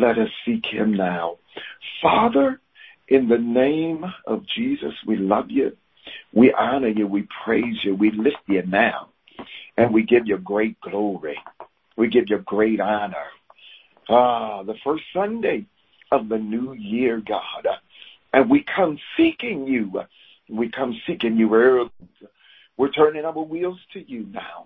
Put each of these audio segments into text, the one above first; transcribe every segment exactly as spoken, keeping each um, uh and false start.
Let us seek him now. Father, in the name of Jesus, we love you. We honor you. We praise you. We lift you now. And we give you great glory. We give you great honor. Ah, the first Sunday of the new year, God. And we come seeking you. We come seeking you early. We're turning our wheels to you now.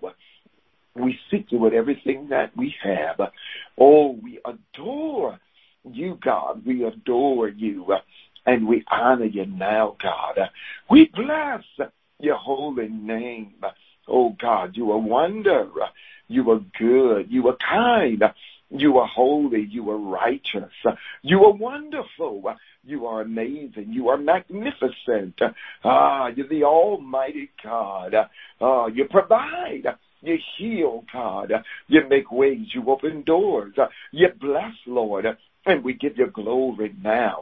We seek you with everything that we have. Oh, we adore you, God. We adore you. And we honor you now, God. We bless your holy name. Oh, God, you are wonder. You are good. You are kind. You are holy. You are righteous. You are wonderful. You are amazing. You are magnificent. Ah, you're the Almighty God. Ah, you provide. You heal, God. You make ways. You open doors. You bless, Lord. And we give you glory now.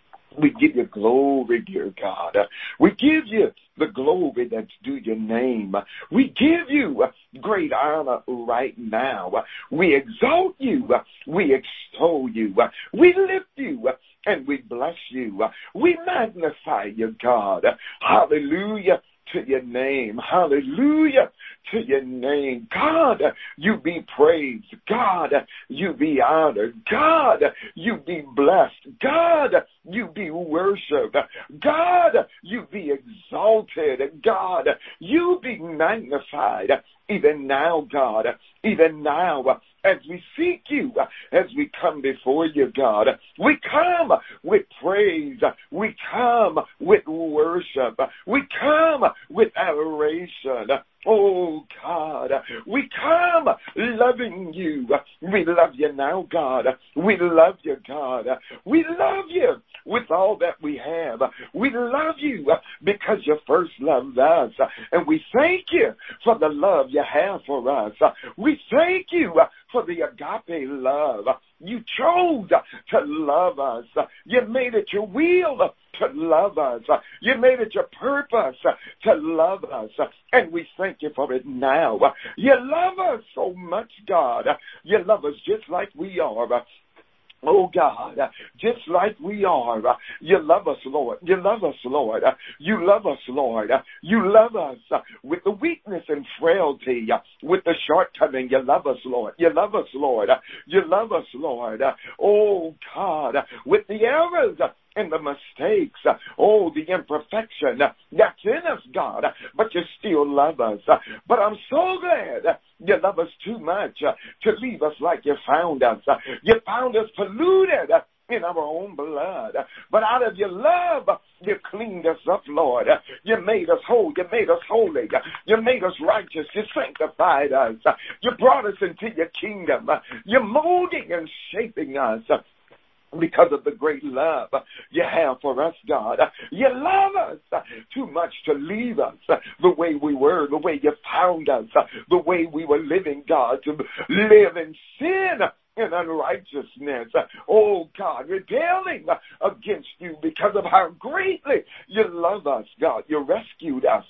We give you glory, dear God. We give you the glory that's due your name. We give you great honor right now. We exalt you. We extol you. We lift you. And we bless you. We magnify you, God. Hallelujah to your name. Hallelujah to your name. God, you be praised. God, you be honored. God, you be blessed. God, you be worshiped. God, you be exalted. God, you be magnified. Even now, God, even now, as we seek you, as we come before you, God, we come with praise. We come with worship. We come with adoration. Oh, God, we come loving you. We love you now, God. We love you, God. We love you with all that we have. We love you because you first loved us. And we thank you for the love you have for us. We thank you for the agape love. You chose to love us. You made it your will to love us. You made it your purpose to love us. And we thank you for it now. You love us so much, God. You love us just like we are. Oh, God, just like we are. You love us, Lord. You love us, Lord. You love us, Lord. You love us with the weakness and frailty, with the shortcoming. You love us, Lord. You love us, Lord. You love us, Lord. Oh, God, with the errors and the mistakes, oh, the imperfection that's in us, God, but you still love us. But I'm so glad you love us too much to leave us like you found us. You found us polluted in our own blood. But out of your love, you cleaned us up, Lord. You made us whole. You made us holy. You made us righteous. You sanctified us. You brought us into your kingdom. You're molding and shaping us because of the great love you have for us, God. You love us too much to leave us the way we were, the way you found us, the way we were living, God, to live in sin and unrighteousness. Oh, God, rebelling against you because of how greatly you love us, God. You rescued us.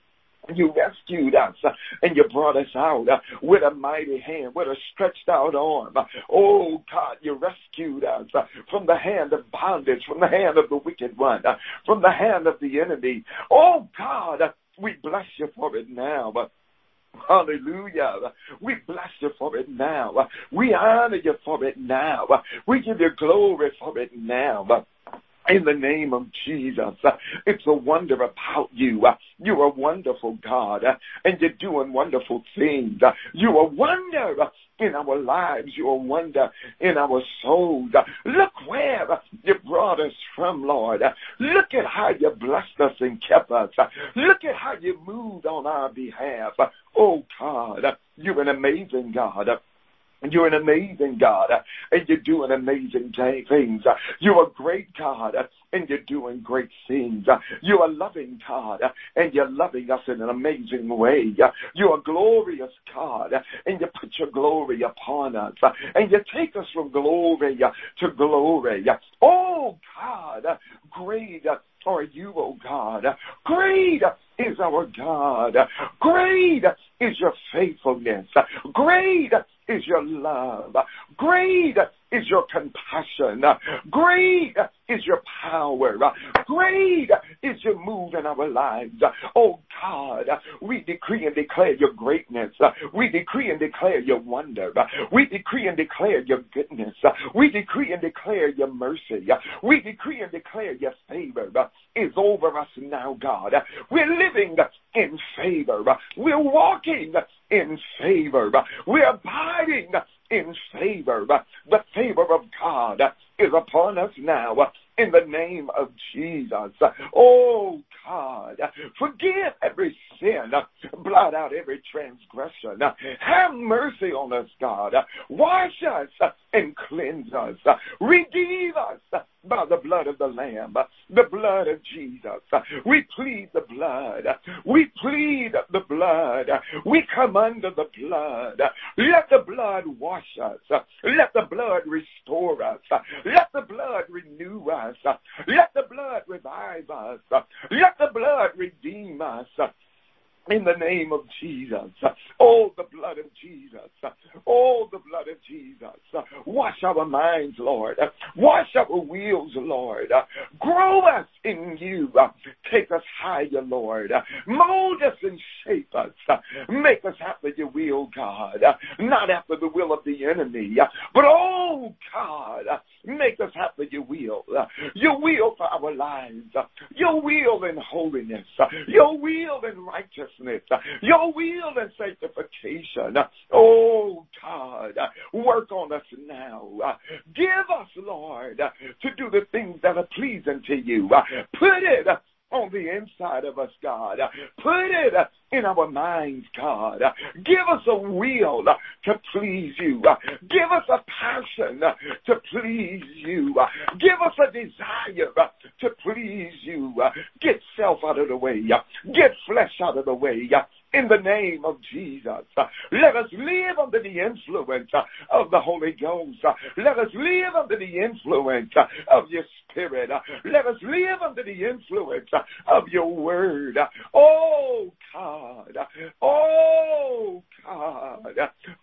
You rescued us uh, and you brought us out uh, with a mighty hand, with a stretched out arm. Oh, God, you rescued us uh, from the hand of bondage, from the hand of the wicked one, uh, from the hand of the enemy. Oh, God, uh, we bless you for it now. Uh, Hallelujah. We bless you for it now. We honor you for it now. We give you glory for it now. In the name of Jesus, it's a wonder about you. You're a wonderful God, and you're doing wonderful things. You're a wonder in our lives. You're a wonder in our souls. Look where you brought us from, Lord. Look at how you blessed us and kept us. Look at how you moved on our behalf. Oh, God, you're an amazing God. You're an amazing God, and you're doing amazing things. You're a great God, and you're doing great things. You're a loving God, and you're loving us in an amazing way. You're a glorious God, and you put your glory upon us, and you take us from glory to glory. Oh, God, great are you, oh God. Great is our God. Great is your faithfulness. Great is your love. Great is your compassion. Great is your power. Great is your move in our lives. Oh God, we decree and declare your greatness. We decree and declare your wonder. We decree and declare your goodness. We decree and declare your mercy. We decree and declare your favor is over us now, God. We're living in favor. We're walking in favor. We're abiding in favor. The favor of God is upon us now in the name of Jesus. Oh God, forgive every sin, blot out every transgression. Have mercy on us, God. Wash us and cleanse us. Redeem us by the blood of the Lamb, the blood of Jesus. We plead the blood. We plead the blood. We come under the blood. Let the blood wash us. Let the blood restore us. Let the blood renew us. Let the blood revive us. Let the blood redeem us. In the name of Jesus. Oh, the blood of Jesus. Oh, the blood of Jesus. Wash our minds, Lord. Wash our wheels, Lord. Grow us in you. Take us higher, Lord. Mold us and shape us. Make us after your will, God. Not after the will of the enemy. But, oh, God, make us after your will. Your will for our lives. Your will in holiness. Your will in righteousness. Your will and sanctification. Oh, God, work on us now. Give us, Lord, to do the things that are pleasing to you. Put it on the inside of us, God. Put it in our minds, God. Give us a will to please you. Give us a passion to please you. Give us a desire to please you. Get self out of the way. Get flesh out of the way. In the name of Jesus, let us live under the influence of the Holy Ghost. Let us live under the influence of your Spirit. Let us live under the influence of your word. Oh, God. Oh, God.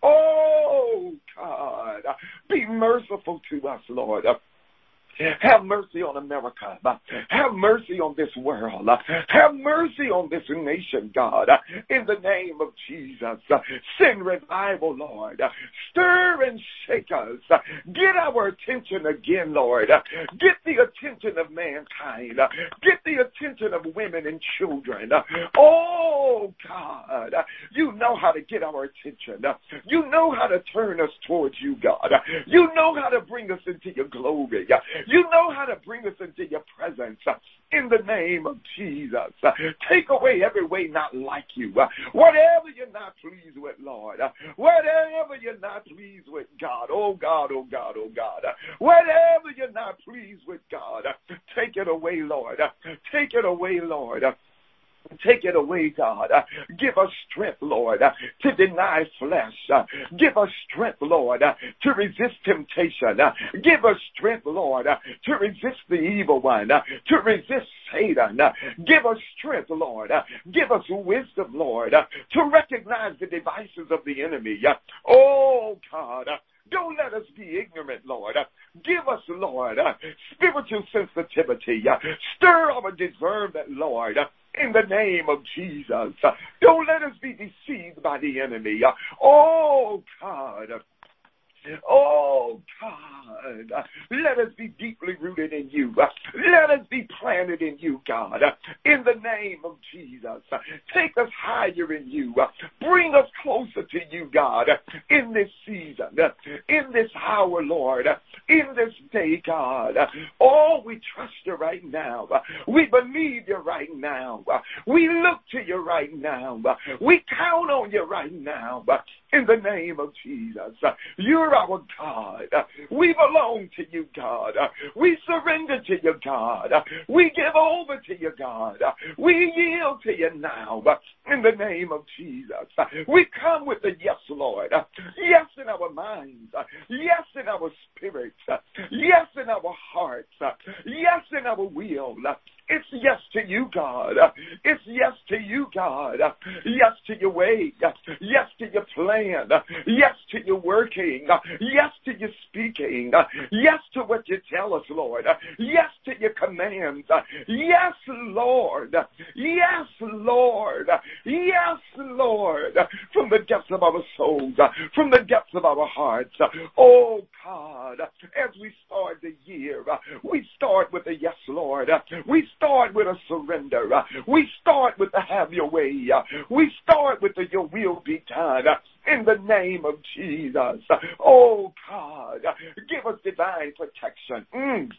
Oh, God. Be merciful to us, Lord. Have mercy on America. Have mercy on this world. Have mercy on this nation, God. In the name of Jesus, send revival, Lord. Stir and shake us. Get our attention again, Lord. Get the attention of mankind. Get the attention of women and children. Oh, God, you know how to get our attention. You know how to turn us towards you, God. You know how to bring us into your glory. You know how to bring us into your presence. In the name of Jesus, take away every way not like you. Whatever you're not pleased with, Lord. Whatever you're not pleased with, God. Oh, God, oh, God, oh, God. Whatever you're not pleased with, God. Take it away, Lord. Take it away, Lord. Take it away, God. Uh, give us strength, Lord, uh, to deny flesh. Uh, give us strength, Lord, uh, to resist temptation. Uh, give us strength, Lord, uh, to resist the evil one, uh, to resist Satan. Uh, give us strength, Lord. Uh, give us wisdom, Lord, uh, to recognize the devices of the enemy. Uh, oh, God. Uh, Don't let us be ignorant, Lord. Uh, give us, Lord, uh, spiritual sensitivity. Uh, stir our discernment, Lord. Uh, In the name of Jesus. Uh, don't let us be deceived by the enemy. Uh, oh, God. Oh, God, let us be deeply rooted in you. Let us be planted in you, God, in the name of Jesus. Take us higher in you. Bring us closer to you, God, in this season, in this hour, Lord, in this day, God. Oh, we trust you right now. We believe you right now. We look to you right now. We count on you right now. In the name of Jesus, you're our God. We belong to you, God. We surrender to you, God. We give over to you, God. We yield to you now. In the name of Jesus, we come with a yes, Lord. Yes in our minds. Yes in our spirits. Yes in our hearts. Yes in our will. It's yes to you, God. It's yes to you, God. Yes to your way. Yes to your plan. Yes to your working. Yes to your speaking. Yes to what you tell us, Lord. Yes to your commands. Yes, Lord. Yes, Lord. Yes, Lord. From the depths of our souls, from the depths of our hearts. Oh, God, as we start the year, we start with a yes, Lord. We start with a surrender. We start with the have your way. We start with the your will be done. In the name of Jesus. Oh, God, give us divine protection. Mm.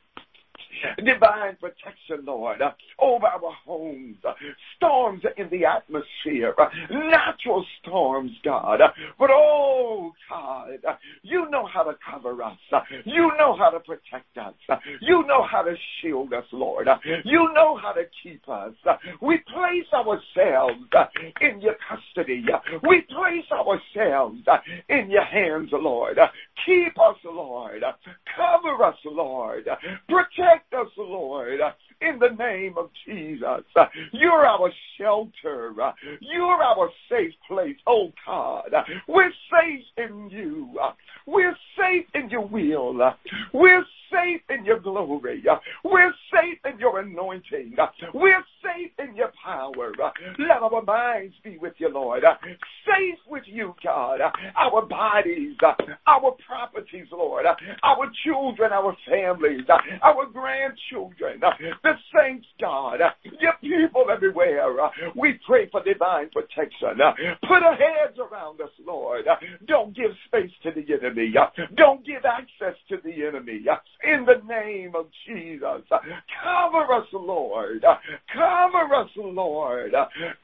Divine protection, Lord, uh, over our homes, uh, storms in the atmosphere, uh, natural storms, God. Uh, but, oh, God, uh, you know how to cover us. Uh, you know how to protect us. Uh, you know how to shield us, Lord. Uh, you know how to keep us. Uh, we place ourselves uh, in your custody. Uh, we place ourselves uh, in your hands, Lord. Uh, keep us, Lord. Uh, cover us, Lord. Uh, protect us, Lord, in the name of Jesus. You're our shelter. You're our safe place, oh God. We're safe in you. We're safe in your will. We're safe in your glory. We're safe in your anointing. We're safe in your power. Let our minds be with you, Lord. Safe with you, God. Our bodies, our properties, Lord. Our children, our families, our grandchildren, the saints, God. Your people everywhere. We pray for divine protection. Put a hedge around us, Lord. Don't give space to the enemy. Don't give access to the enemy. In the name of Jesus, cover us, Lord. Cover us, Lord.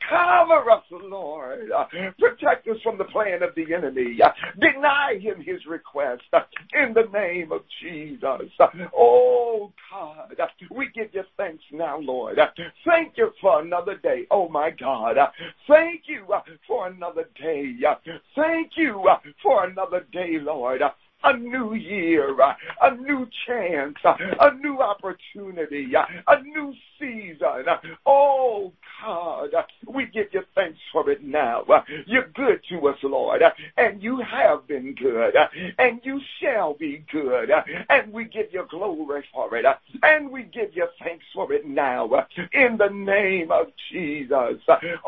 Cover us, Lord. Protect us from the plan of the enemy. Deny him his request. In the name of Jesus. Oh, God, we give you thanks now, Lord. Thank you for another day. Oh, my God. Thank you for another day. Thank you for another day, Lord. A new year, a new chance, a new opportunity, a new season. Oh, God, we give you thanks for it now. You're good to us, Lord, and you have been good, and you shall be good, and we give you glory for it, and we give you thanks for it now, in the name of Jesus.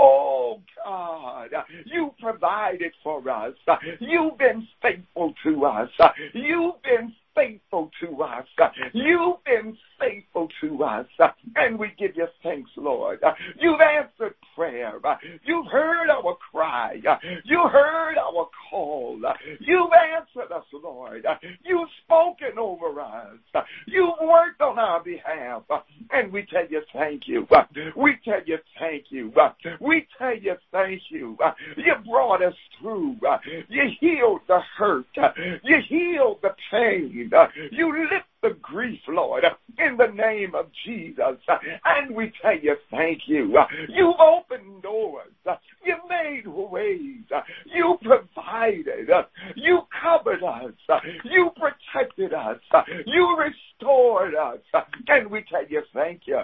Oh, God, you provided for us. You've been faithful to us. You've been faithful to us. You've been faithful to us. And we give you thanks, Lord. You've answered prayer. You've heard our cry. You heard our call. You've answered us, Lord. You've spoken over us. You've worked on our behalf. And we tell you thank you. We tell you thank you. We tell you thank you. You brought us through. You healed the hurt. You healed the pain. You lift the grief, Lord, in the name of Jesus. And we tell you thank you. You've opened doors. You made ways. You provided. You covered us. You protected us. You restored us. And we tell you thank you.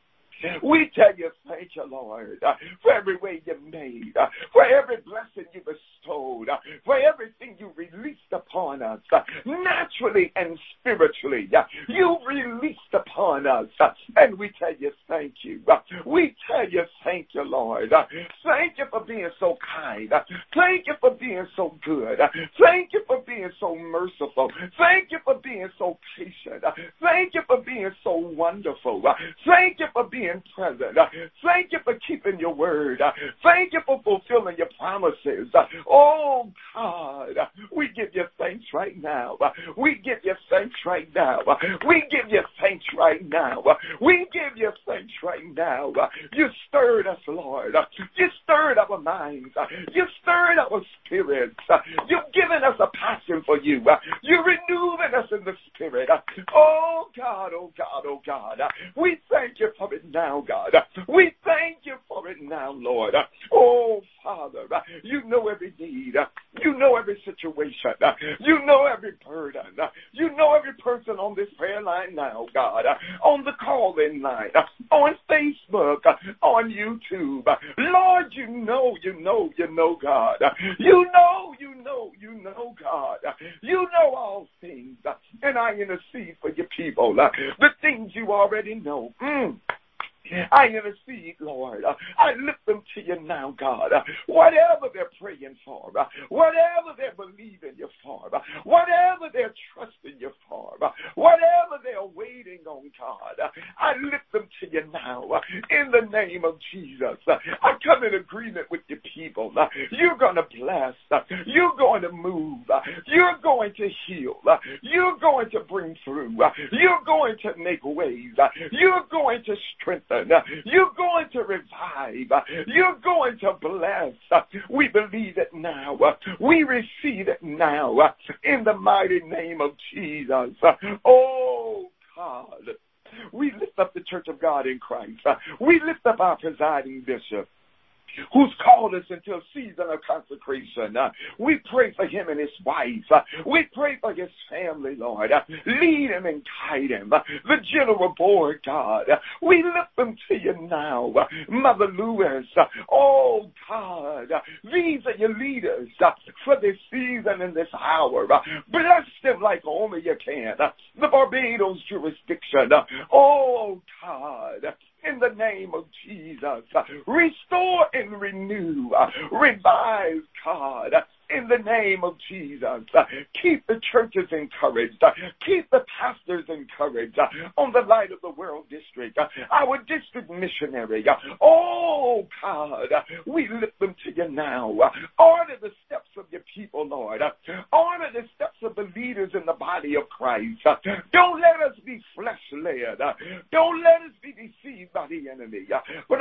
We tell you thank you, Lord, uh, for every way you made, uh, for every blessing you bestowed, uh, for everything you released upon us, uh, naturally and spiritually. Uh, you released upon us, uh, and we tell you thank you. Uh, we tell you thank you, Lord. Uh, thank you for being so kind. Uh, thank you for being so good. Uh, thank you for being so merciful. Thank you for being so patient. Uh, thank you for being so wonderful. Uh, thank you for being present. Uh, thank you for keeping your word. Uh, thank you for fulfilling your promises. Uh, oh, God, uh, we give you thanks right now. Uh, we give you thanks right now. Uh, we give you thanks right now. Uh, we give you thanks right now. Uh, you stirred us, Lord. Uh, you stirred our minds. Uh, you stirred our spirits. Uh, you've given us a passion for you. Uh, you're renewing us in the spirit. Uh, oh, God, oh, God, oh, God. Uh, we thank you for it now, God. We thank you for it now, Lord. Oh, Father, you know every need. You know every situation. You know every burden. You know every every person on this prayer line now, God, on the call-in line, on Facebook, on YouTube. Lord, you know, you know, you know, God. You know, you know, you know, God. You know all things. And I intercede for your people. The things you already know. Mm. I intercede, Lord. I lift them to you now, God. Whatever they're praying for, whatever they're believing you for, whatever they're trusting you for, whatever they're waiting on, God, I lift them to you now in the name of Jesus. I come in agreement with your people. You're going to bless. You're going to move. You're going to heal. You're going to bring through. You're going to make ways. You're going to strengthen. You're going to revive. You're going to bless. We believe it now. We receive it now in the mighty name of Jesus. Oh, God. We lift up the Church of God in Christ. We lift up our presiding bishop, who's called us into a season of consecration. Uh, we pray for him and his wife. Uh, we pray for his family, Lord. Uh, lead him and guide him. Uh, the general board, God. Uh, we lift them to you now. Uh, Mother Lewis. Uh, oh, God. Uh, these are your leaders uh, for this season and this hour. Uh, bless them like only you can. Uh, the Barbados jurisdiction. Uh, oh, God. In the name of Jesus, uh, restore and renew, uh, revive, God, uh, in the name of Jesus. Uh, keep the churches encouraged. Uh, keep the pastors encouraged uh, on the Light of the World District, uh, our district missionary. Uh, oh, God, uh, we lift them to you now. Uh, order the steps of your people, Lord. Uh, order the steps of the leaders in the body of Christ. Uh, don't let us be flesh-led. Uh, don't let us be deceived by the enemy. Uh, but,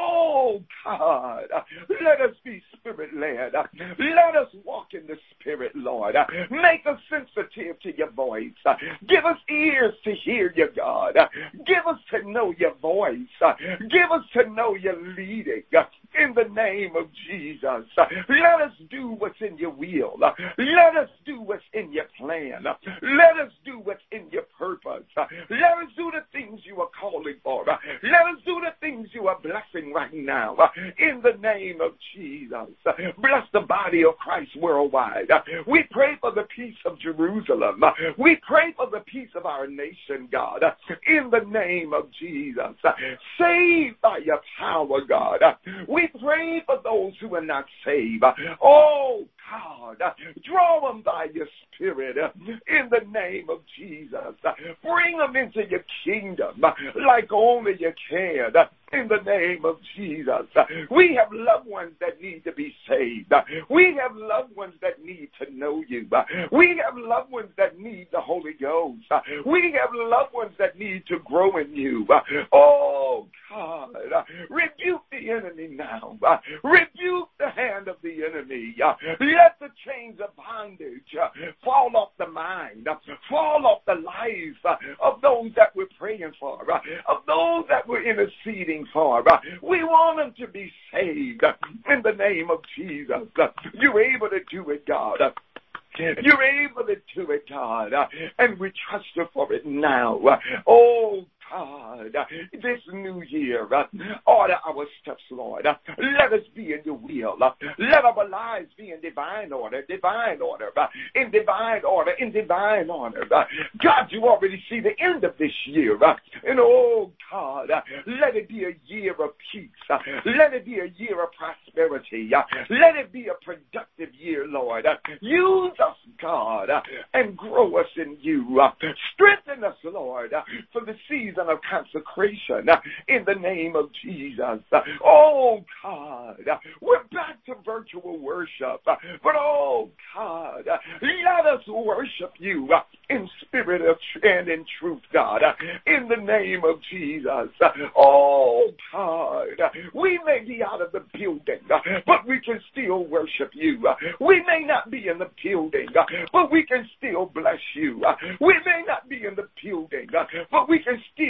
oh, God, uh, let us be spirit-led. Uh, let us walk in the Spirit, Lord. Uh, make us sensitive to your voice. Uh, give us ears to hear you, God. Uh, give us to know your voice. Uh, give us to know your leading. Uh, in the name of Jesus. Uh, let us do what's in your will. Uh, let us do what's in your plan. Uh, let us do what's in your purpose. Uh, let us do the things you are calling for. Uh, let us do the things you are blessing right now. Uh, in the name of Jesus. Uh, bless the body of Christ worldwide. Uh, we pray for the peace of Jerusalem. Uh, we pray for the peace of our nation, God. Uh, in the name of Jesus. Uh, save by your power, God. Uh, we pray for those who are not saved. Uh, oh, God. Uh, draw them by your Spirit uh, in the name of Jesus. Uh, bring them into your kingdom uh, like only you can. Uh, in the name of Jesus. Uh, we have loved ones that need to be saved. Uh, we have loved ones that need to know you. Uh, we have loved ones that need the Holy Ghost. Uh, we have loved ones that need to grow in you. Uh, oh, God. Uh, rebuke the enemy now. Uh, rebuke the hand of the enemy. Uh, let the chains of bondage uh, fall off the mind. Uh, fall off the lives uh, of those that we're praying for. Uh, of those that we're interceding for. Uh, we want them to be saved uh, in the name of Jesus. Uh, you're able to do it, God. Uh, you're able to do it, God. Uh, and we trust you for it now. Uh, oh, God, uh, this new year, uh, order our steps, Lord. Uh, let us be in your will. Uh, let our lives be in divine order, divine order, uh, in divine order, in divine order. Uh, God, you already see the end of this year. Uh, and oh, God, uh, let it be a year of peace. Uh, let it be a year of prosperity. Uh, let it be a productive year, Lord. Uh, use us, God, uh, and grow us in you. Uh, strengthen us, Lord, uh, for the season of consecration uh, in the name of Jesus. Uh, oh, God, uh, we're back to virtual worship. Uh, but, oh, God, uh, let us worship you uh, in spirit and in truth, God, uh, in the name of Jesus. Uh, oh, God, uh, we may be out of the building, uh, but we can still worship you. Uh, we may not be in the building, uh, but we can still bless you. Uh, we may not be in the building, uh, but we can still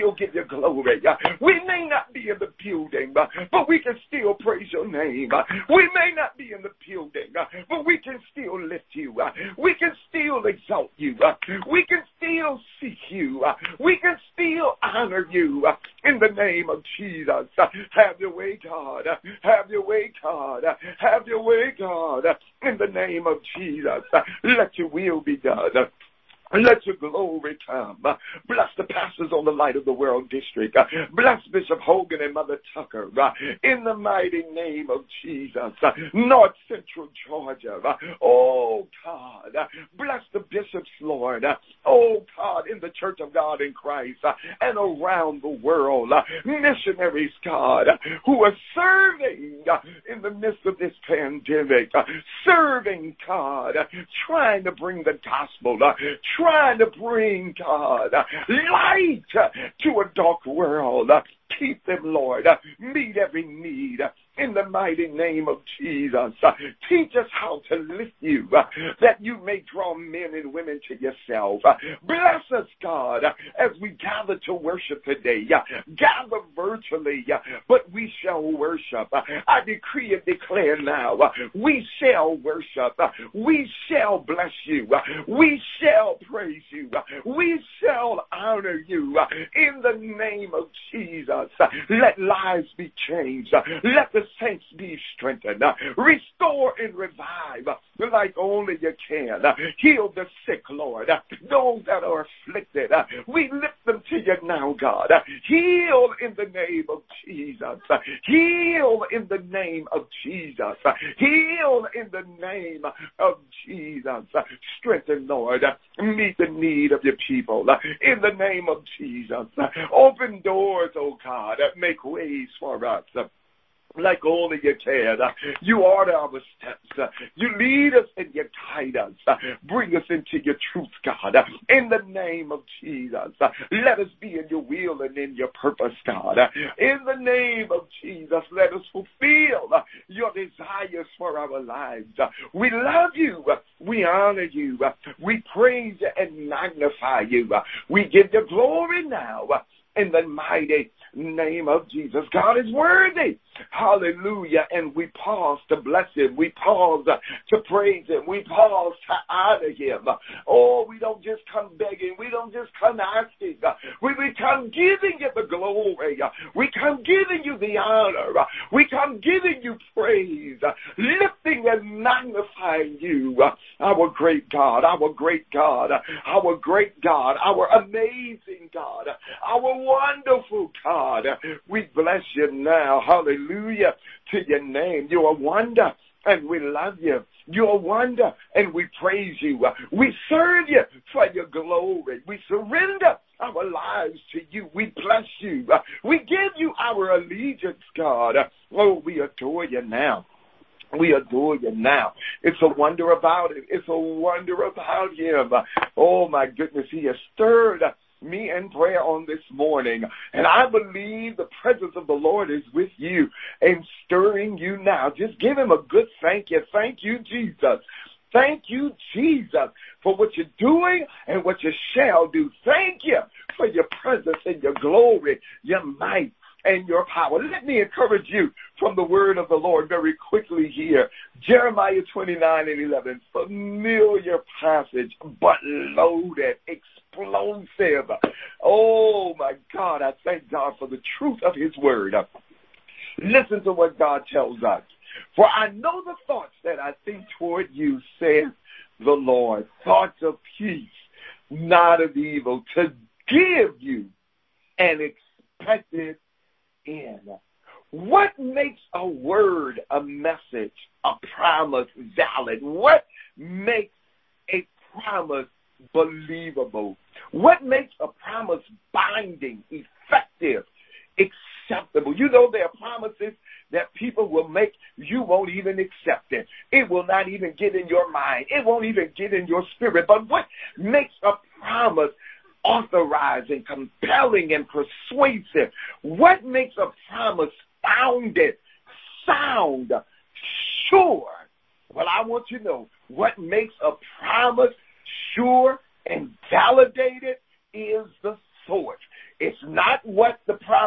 still give you glory. We may not be in the building, but we can still praise your name. We may not be in the building, but we can still lift you. We can still exalt you. We can still seek you. We can still honor you in the name of Jesus. Have your way, God. Have your way, God. Have your way, God. In the name of Jesus. Let your will be done. Let your glory come. Bless the pastors on the Light of the World District. Bless Bishop Hogan and Mother Tucker. In the mighty name of Jesus. North Central Georgia. Oh, God. Bless the bishops, Lord. Oh, God, in the Church of God in Christ and around the world. Missionaries, God, who are serving in the midst of this pandemic. Serving, God, trying to bring the gospel. Trying to bring, God, light to a dark world. Keep them, Lord. Meet every need in the mighty name of Jesus. Teach us how to lift you, that you may draw men and women to yourself. Bless us, God, as we gather to worship today. Gather virtually, but we shall worship. I decree and declare now, we shall worship. We shall bless you. We shall praise you. We shall honor you in the name of Jesus. Let lives be changed. Let the saints be strengthened. Restore and revive like only you can. Heal the sick, Lord. Those that are afflicted, we lift them to you now, God. Heal in the name of Jesus. Heal in the name of Jesus. Heal in the name of Jesus. Strengthen, Lord. Meet the need of your people. In the name of Jesus. Open doors, oh God. Make ways for us. Like only you can. You order our steps. You lead us and you guide us. Bring us into your truth, God. In the name of Jesus. Let us be in your will and in your purpose, God. In the name of Jesus, let us fulfill your desires for our lives. We love you. We honor you. We praise you and magnify you. We give you glory now. In the mighty name of Jesus. God is worthy. Hallelujah. And we pause to bless him. We pause to praise him. We pause to honor him. Oh, we don't just come begging. We don't just come asking. We, we come giving you the glory. We come giving you the honor. We come giving you praise. Lifting and magnifying you. Our great God. Our great God. Our great God. Our amazing God. Our wonderful God. We bless you now. Hallelujah to your name. You're a wonder and we love you. You're a wonder and we praise you. We serve you for your glory. We surrender our lives to you. We bless you. We give you our allegiance, God. Oh, we adore you now. We adore you now. It's a wonder about it. It's a wonder about him. Oh, my goodness. He has stirred me in prayer on this morning. And I believe the presence of the Lord is with you and stirring you now. Just give him a good thank you. Thank you, Jesus. Thank you, Jesus, for what you're doing and what you shall do. Thank you for your presence and your glory, your might, and your power. Let me encourage you from the word of the Lord very quickly here. Jeremiah twenty-nine and eleven, familiar passage, but loaded, explosive. Oh, my God, I thank God for the truth of his word. Listen to what God tells us. For I know the thoughts that I think toward you, saith the Lord, thoughts of peace, not of evil, to give you an expected end. What makes a word, a message, a promise valid? What makes a promise believable? What makes a promise binding, effective, acceptable? You know, there are promises that people will make, you won't even accept it. It will not even get in your mind. It won't even get in your spirit. But what makes a promise authorizing, compelling, and persuasive? What makes a promise founded, sound, sure? Well, I want you to know what makes a promise sure and validated is the source. It's not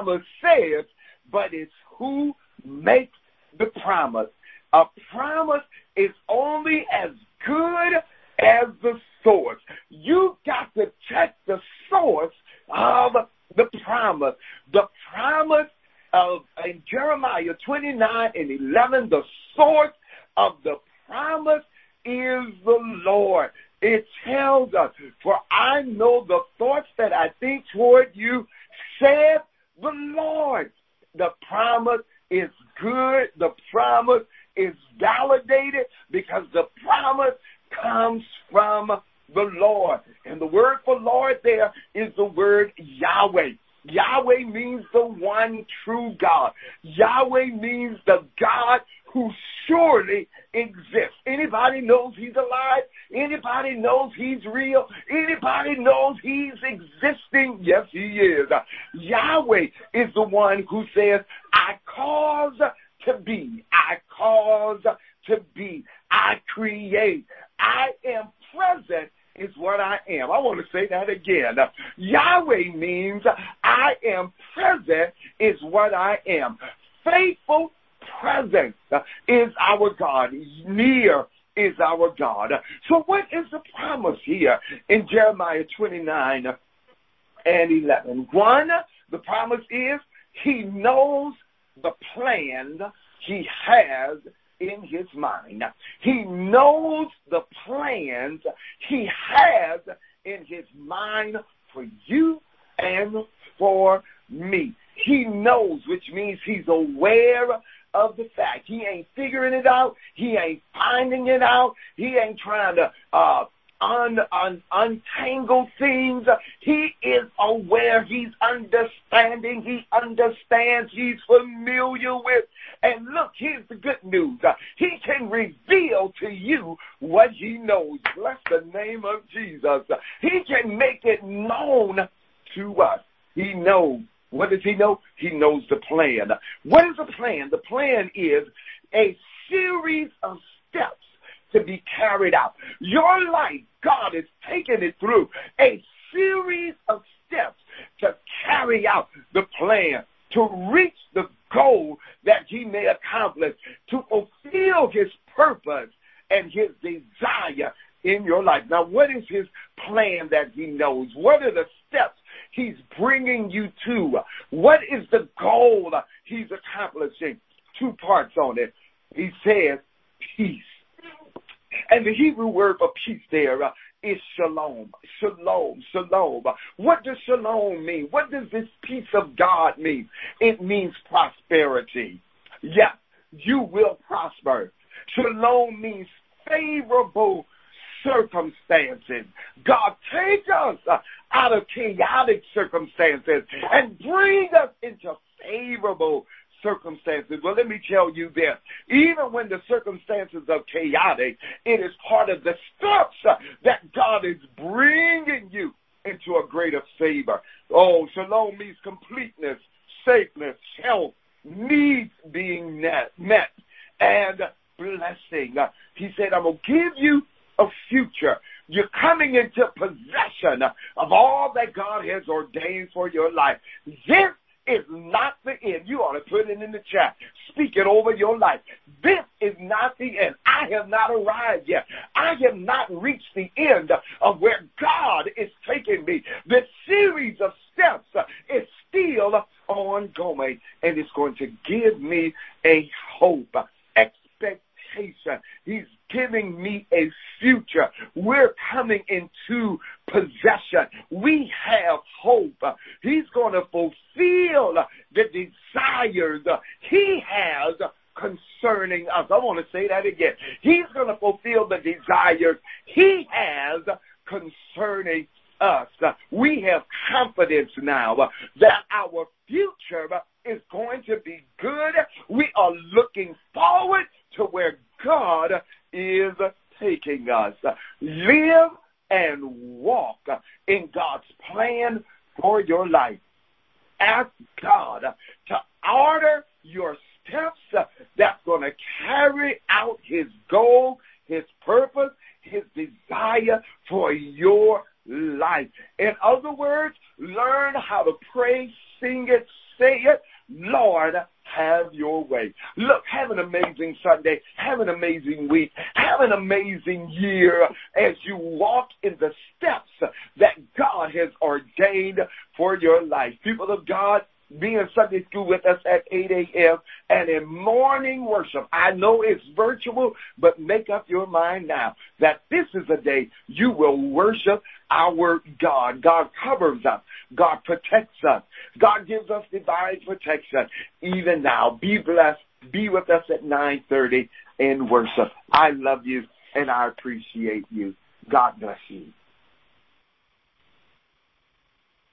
promise says, but it's who makes the promise. A promise is only as good as the source. You got to check the source of the promise. The promise of in Jeremiah twenty-nine and eleven, the source of the promise is the Lord. It tells us, for I know the thoughts that I think toward you, said the Lord. The promise is good. The promise is validated because the promise comes from the Lord. And the word for Lord there is the word Yahweh. Yahweh means the one true God. Yahweh means the God who surely exists. Anybody knows he's alive? Anybody knows he's real? Anybody knows he's existing? Yes, he is. Yahweh is the one who says, I cause to be. I cause to be. I create. I am present is what I am. I want to say that again. Yahweh means I am present is what I am. Faithful presence is our God. Near is our God. So what is the promise here in Jeremiah twenty-nine and eleven? One, the promise is he knows the plan he has in his mind. He knows the plans he has in his mind for you and for me. He knows, which means he's aware of the fact. He ain't figuring it out. He ain't finding it out. He ain't trying to uh, un, un, untangle things. He is aware. He's understanding. He understands. He's familiar with. And look, here's the good news. Uh, he can reveal to you what he knows. Bless the name of Jesus. Uh, he can make it known to us. He knows. What does he know? He knows the plan. What is the plan? The plan is a series of steps to be carried out. Your life, God is taking it through a series of steps to carry out the plan, to reach the goal that he may accomplish, to fulfill his purpose and his desire in your life. Now, what is his plan that he knows? What are the steps he's bringing you to? What is the goal he's accomplishing? Two parts on it. He says peace. And the Hebrew word for peace there uh, is shalom. Shalom, shalom. What does shalom mean? What does this peace of God mean? It means prosperity. Yes, you will prosper. Shalom means favorable circumstances. God, take us uh, out of chaotic circumstances and bring us into favorable circumstances. Well, let me tell you this. Even when the circumstances are chaotic, it is part of the steps uh, that God is bringing you into a greater favor. Oh, shalom means completeness, safeness, health, needs being met, met and blessing. Uh, he said, I'm going to give you a future. You're coming into possession of all that God has ordained for your life. This is not the end. You ought to put it in the chat. Speak it over your life. This is not the end. I have not arrived yet. I have not reached the end of where God is taking me. The series of steps is still ongoing, and it's going to give me a hope, expectation. He's giving me a future. We're coming into possession. We have hope. He's going to fulfill the desires he has concerning us. I want to say that again. He's going to fulfill the desires he has concerning us. We have confidence now that our future is going to be good. We are looking forward to where God is taking us. Live and walk in God's plan for your life. Ask God to order your steps that's going to carry out his goal, his purpose, his desire for your life. In other words, learn how to pray, sing it, say it, Lord, have your way. Look, have an amazing Sunday. Have an amazing week. Have an amazing year as you walk in the steps that God has ordained for your life. People of God, be in Sunday school with us at eight a.m. and in morning worship. I know it's virtual, but make up your mind now that this is a day you will worship our God. God covers us. God protects us. God gives us divine protection. Even now, be blessed. Be with us at nine thirty in worship. I love you and I appreciate you. God bless you.